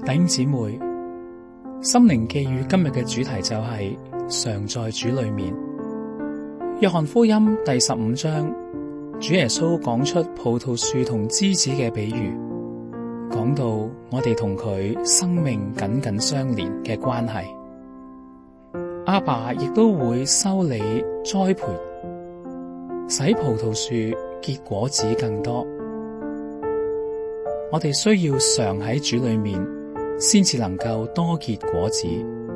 弟兄姊妹，心靈寄語今日嘅主題就係常在主裏面。約翰福音第15章，主耶穌講出葡萄樹同枝子嘅比喻，講到我哋同佢生命緊緊相連嘅關係。阿爸亦都會修理栽培，使葡萄樹結果子更多。我哋需要常喺主裏面，先至能夠多結果子。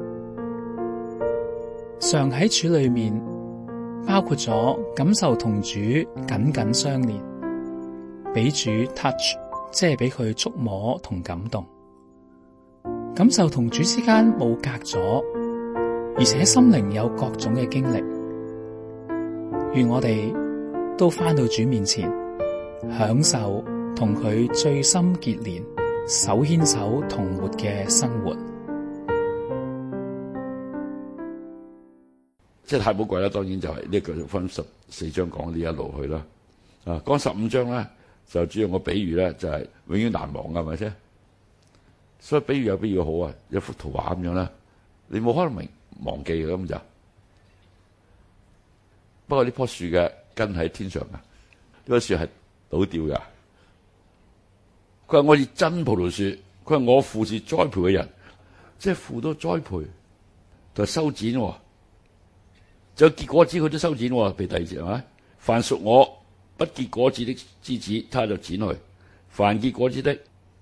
常喺主裏面，包括咗感受同主緊緊相連，俾主 touch， 即係俾佢觸摸同感動，感受同主之間冇隔咗，而且心靈有各種嘅經歷。願我哋都返到主面前，享受同佢最深結連、手牽手同活嘅生活。 即係太寶貴啦！當然就係呢個分14章講呢一路去啦。講15章咧就主要個比喻咧就係永遠難忘㗎，係咪先？所以比喻有比喻好啊，一幅圖畫咁樣啦，你冇可能忘記嘅咁就。不過呢棵樹嘅根喺天上㗎，呢棵樹係倒掉㗎。佢話我是真葡萄樹，佢話我父是栽培嘅人，即係父都栽培，就修剪，就結果子佢都修剪。譬如第2節係咪？凡屬我不結果子的枝子，他就剪去；凡結果子的，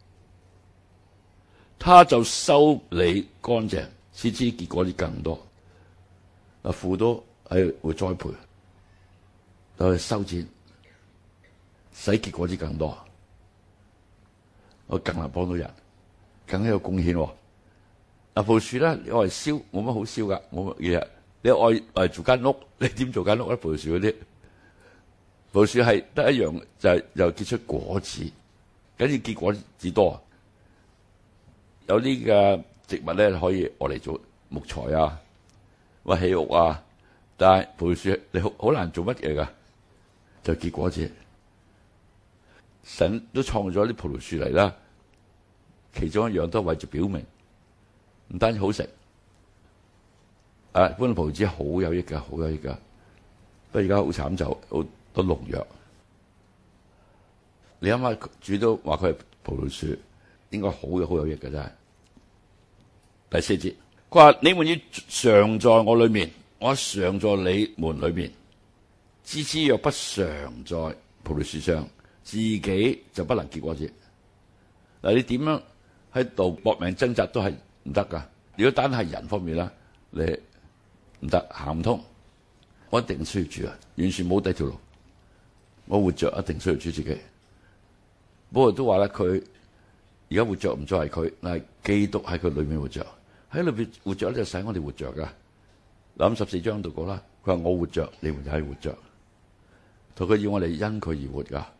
他就修理乾淨，使枝結果子更多。父都係會栽培，就去修剪，使結果子更多。我更能幫到人，更有貢獻。葡萄樹咧，你愛燒冇乜好燒噶，冇乜嘢。你愛做間屋，你點做間屋咧？葡萄樹嗰啲，葡萄樹係得一樣，就係又結出果子，緊要結果子多。有啲嘅植物咧可以愛嚟做木材啊，或起屋啊，但係葡萄樹你好難做乜嘢噶，就結果子。神都創咗啲葡萄樹嚟啦，其中一樣都係為咗表明，唔單止好食，般葡萄枝好有益噶，好有益噶。不過而家好慘，就好多農藥。你諗下，主都話佢係葡萄樹，應該好有益嘅真係。第4節，佢話你們要常在我裏面，我常在你們裏面。枝子若不常在葡萄樹上，自己就不能結果子。嗱，你點樣喺度搏命掙扎都係唔得噶。如果單係人方面啦，你唔得，行唔通。我一定需要主啊，完全冇第二條路。我活着一定需要主自己。不過都話咧，佢而家活着唔再係佢，但係基督喺佢裏面活着，喺裏邊活着咧就使我哋活着噶。嗱，咁14章度講啦，佢話我活着，你們就係活着，同佢要我哋因佢而活噶。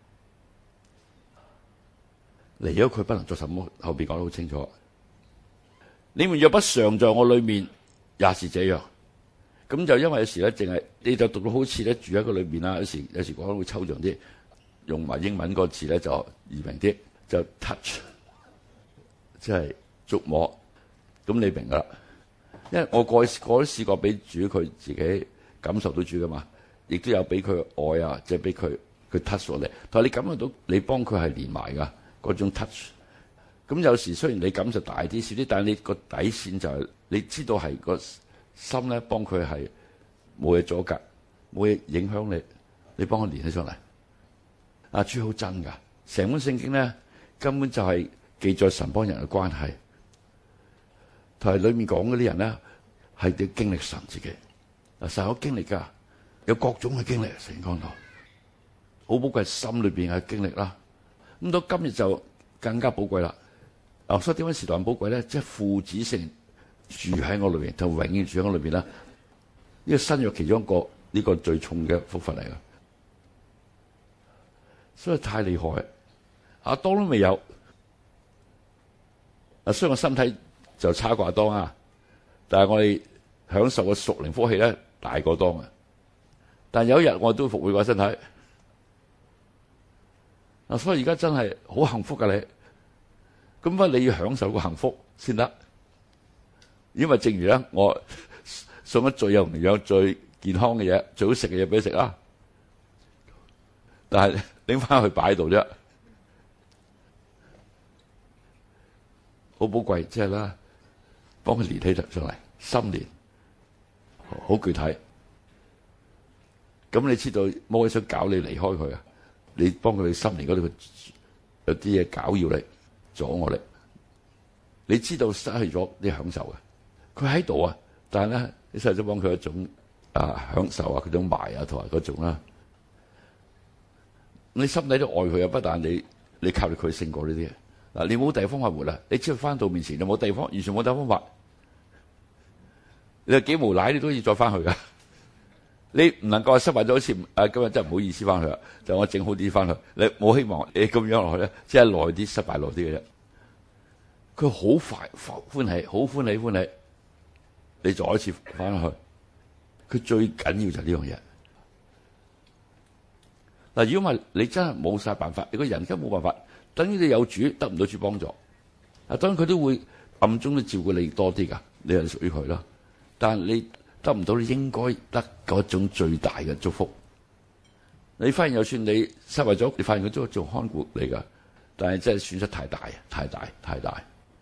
離咗佢不能做什麼，後邊講得好清楚。你們若不常在我裏面，也是這樣。咁就因為有時咧，淨係你就讀到好似咧住喺個裏面啦。有時講得會抽象啲，用埋英文個詞咧就易明啲，就 touch， 即係觸摸。咁你明噶啦，因為我過去都試過俾主佢自己感受到主噶嘛，亦都有俾佢愛啊，即係俾佢 touch 我哋。但係你感覺到你幫佢係連埋噶嗰種 touch。咁有時雖然你感受大啲少啲，但係你個底線就係你知道係個心咧，幫佢係冇嘢阻隔，冇嘢影響你，你幫佢連起上嚟。阿主好真噶，成本聖經咧根本就係記載神幫人嘅關係，同埋裏面講嗰啲人咧係要經歷神自己。嗱，神有經歷噶，有各種嘅經歷，成講到好寶貴，心裏邊嘅經歷啦。咁到今日就更加寶貴啦。所以點解時代咁寶貴咧？即係父子性住喺我裏邊，就永遠住喺我裏邊啦。呢個新約其中一個呢個最重嘅福分嚟噶，所以太厲害。亞當都未有，雖然我身體就差過亞當啊，但係我哋享受嘅屬靈福氣咧大過當啊。但有一日我都復活過身體。所以而家真係好幸福噶你。 咁你要享受個幸福先得。因為正如咧，我送咗最有營養、最健康嘅嘢、最好食嘅嘢俾你食啊，但係拎翻去擺喺度啫，好寶貴，即係啦，幫佢連起上嚟，心連，好具體。咁你知道魔鬼想搞你離開佢啊？你幫佢心連嗰度有啲嘢搞要你，阻我哋。你知道失去咗啲享受嘅，佢喺度啊，但係咧，你失去咗幫佢一種享受啊，嗰種埋啊，同埋嗰種啦。你心底都愛佢啊，不但你靠佢勝過呢啲嘢。嗱，你冇第二方法活啦，你只要翻到面前，你冇地方，完全冇第二方法。你有幾無賴，你都要再翻去噶。你唔能夠失敗咗好似今日真係唔好意思翻去啦，就我整好啲翻去。你冇希望你咁樣落去咧，即係耐啲失敗耐啲嘅啫。佢好快歡喜，好歡喜，你再一次翻去。佢最緊要就係呢樣嘢。嗱，如果唔係你真係冇晒辦法，你個人根本冇辦法，等於你有主得唔到主幫助。當然佢都會暗中都照顧你多啲噶，你係屬於佢啦。但係你得唔到，你應該得嗰種最大嘅祝福。你發現就算你失敗咗，你發現佢都仲看顧你噶，但係真係損失太大。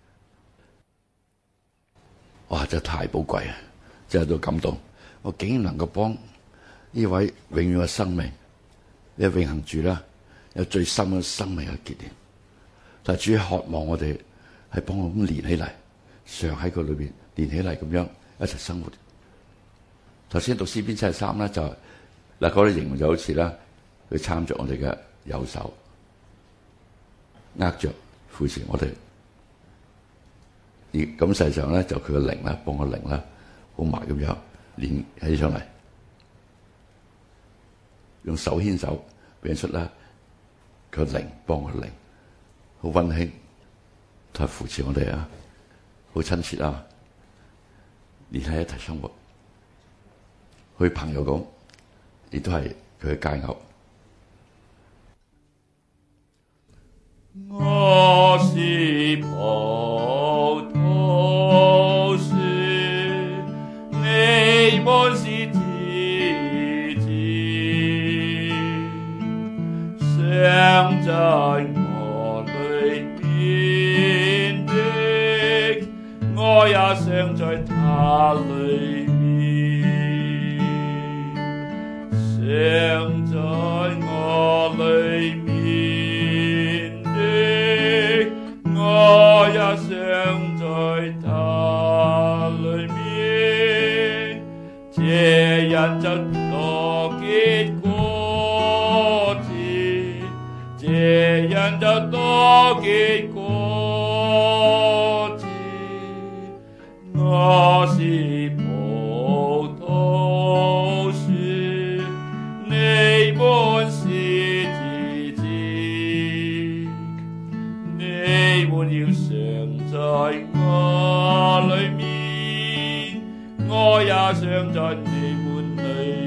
哇！真係太寶貴啊！真係都感動。我竟然能夠幫呢位永遠嘅生命，呢個永恆主啦，有最深嘅生命嘅結連。但係主渴望我哋係幫我咁連起嚟，常喺佢裏邊連起嚟，咁樣一齊生活。頭先讀詩篇73咧，就嗱嗰啲形容就好似啦，佢參着我哋嘅右手，握着扶持我哋。而咁實際上咧，就佢嘅靈啦，幫個靈啦，好埋咁樣連起上嚟，用手牽手變出啦，佢靈幫個靈，好溫馨，同埋扶持我哋啊，好親切啊，連喺一齊生活，好似朋友咁，亦都係佢嘅佳偶。 我是葡萄樹，你們是枝子，常在我裡面的，我也常在他裡面，常在我裡面。我也常在他裡面，這人就多結果子，這人就多結果子。我是葡萄樹，你們是枝子，你們要常在我裡面，我也常在你們裡